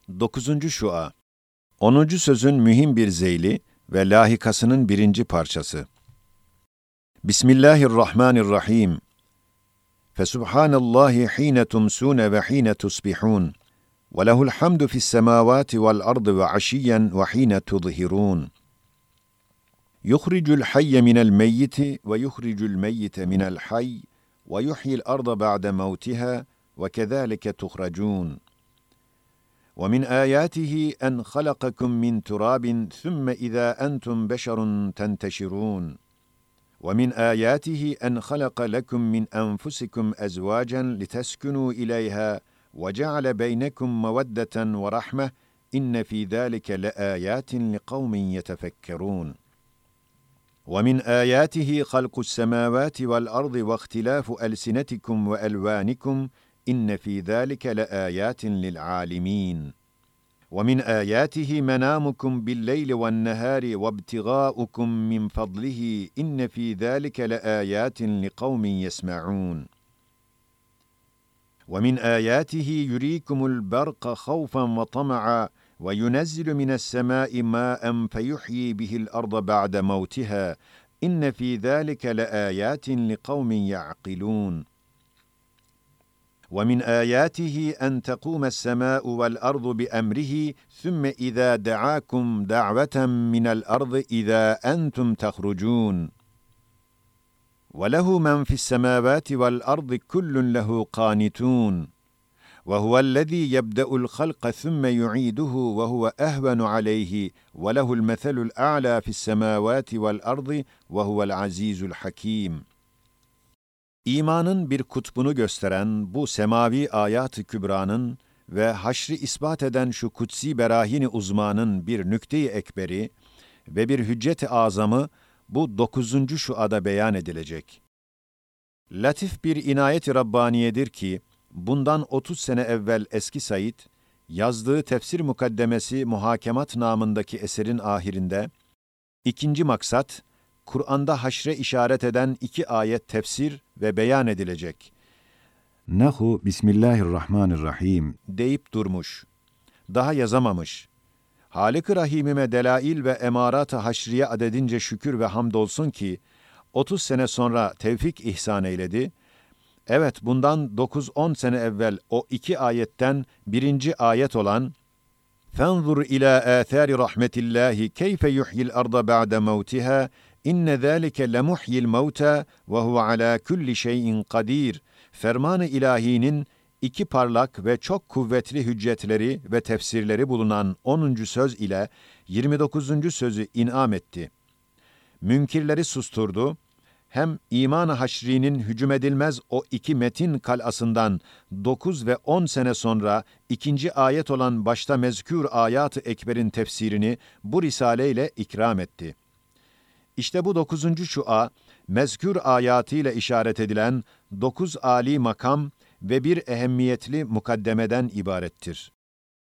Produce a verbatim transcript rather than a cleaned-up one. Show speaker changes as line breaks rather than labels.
Dokuzuncu şua. Onuncu sözün mühim bir zeyli ve lahikasının birinci parçası. Bismillahirrahmanirrahim. Fesubhanallahi hine tumsune ve hine tusbihun. Ve lehul hamdu fis semavati vel ardı ve aşiyyen ve hine tuzhirun. Yuhricul hayye minel meyyiti ve yuhricul meyyite minel hayy ve yuhyil arda ba'de mevtiha ve kezalike tuhracun. وَمِنْ آيَاتِهِ أَنْ خَلَقَكُمْ مِنْ تُرَابٍ ثُمَّ إِذَا أَنْتُمْ بَشَرٌ تَنْتَشِرُونَ وَمِنْ آيَاتِهِ أَنْ خَلَقَ لَكُمْ مِنْ أَنْفُسِكُمْ أَزْوَاجًا لِتَسْكُنُوا إِلَيْهَا وَجَعَلَ بَيْنَكُمْ مَوَدَّةً وَرَحْمَةً إِنَّ فِي ذَلِكَ لَآيَاتٍ لِقَوْمٍ يَتَفَكَّرُونَ وَمِنْ آيَاتِهِ خَلْقُ السَّمَاوَاتِ وَالْأَرْضِ وَاخْتِلَافُ أَلْسِنَتِكُمْ وَأَلْوَانِكُمْ إِنَّ فِي ذَلِكَ لَآيَاتٍ لِلْعَالِمِينَ وَمِنْ آيَاتِهِ مَنَامُكُمْ بِاللَّيْلِ وَالنَّهَارِ وَابْتِغَاؤُكُمْ مِنْ فَضْلِهِ إِنَّ فِي ذَلِكَ لَآيَاتٍ لِقَوْمٍ يَسْمَعُونَ وَمِنْ آيَاتِهِ يُرِيكُمُ الْبَرْقَ خَوْفًا وَطَمَعًا وَيُنَزِّلُ مِنَ السَّمَاءِ مَاءً فَيُحْيِي بِهِ الْأَرْضَ بَعْدَ مَوْتِهَا إِنَّ فِي ذَلِكَ لَآيَاتٍ لِقَوْمٍ يَعْقِلُونَ وَمِنْ آيَاتِهِ أَنْ تَقُومَ السَّمَاءُ وَالْأَرْضُ بِأَمْرِهِ ثُمَّ إِذَا دَعَاكُمْ دَعْوَةً مِنَ الْأَرْضِ إِذَا أَنْتُمْ تَخْرُجُونَ وَلَهُ مَنْ فِي السَّمَاوَاتِ وَالْأَرْضِ كُلٌّ لَهُ قَانِتُونَ وَهُوَ الَّذِي يَبْدَأُ الْخَلْقَ ثُمَّ يُعِيدُهُ وَهُوَ أَهْوَنُ عَلَيْهِ وَلَهُ الْمَثَلُ الْأَعْلَى فِي السَّمَاوَاتِ وَالْأَرْضِ وَهُوَ الْعَزِيزُ الْحَكِيمُ. İmanın bir kutbunu gösteren bu semavi ayat-ı kübranın ve haşri ispat eden şu kutsi berahini uzmanın bir nükte-i ekberi ve bir hüccet-i azamı bu dokuzuncu şuada beyan edilecek. Latif bir inayet-i Rabbaniyedir ki, bundan otuz sene evvel Eski Said, yazdığı tefsir mukaddemesi Muhakemat namındaki eserin ahirinde, ikinci maksat, Kur'an'da haşre işaret eden iki ayet tefsir ve beyan edilecek. Nahu Bismillahirrahmanirrahim deyip durmuş. Daha yazamamış. Halik-i Rahimime delail ve emarat-ı haşriye adedince şükür ve hamdolsun ki, otuz sene sonra tevfik ihsan eyledi. Evet, bundan dokuz on sene evvel o iki ayetten birinci ayet olan فَانْظُرْ إِلَى آثَارِ رَحْمَةِ اللّٰهِ كَيْفَ يُحْيِي الْأَرْضَ بَعْدَ مَوْتِهَا İnne zâlike lemuhyil mevtâ ve huve alâ kulli şeyin kadîr. Ferman-ı ilahinin iki parlak ve çok kuvvetli hüccetleri ve tefsirleri bulunan onuncu söz ile yirmi dokuzuncu sözü inam etti. Münkirleri susturdu. Hem iman-ı haşrinin hücum edilmez o iki metin kalasından dokuz ve on sene sonra ikinci ayet olan başta mezkür ayat-ı ekberin tefsirini bu risaleyle ikram etti. İşte bu dokuzuncu şua, mezkür ayatıyla işaret edilen dokuz âli makam ve bir ehemmiyetli mukaddemeden ibarettir.